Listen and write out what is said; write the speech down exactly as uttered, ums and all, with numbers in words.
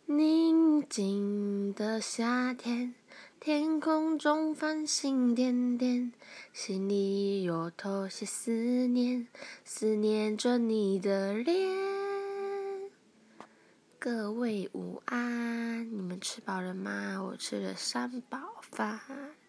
宁静的夏天，天空中繁星点点，心里有头些思念，思念着你的脸。各位午安，你们吃饱了吗？我吃了三宝饭。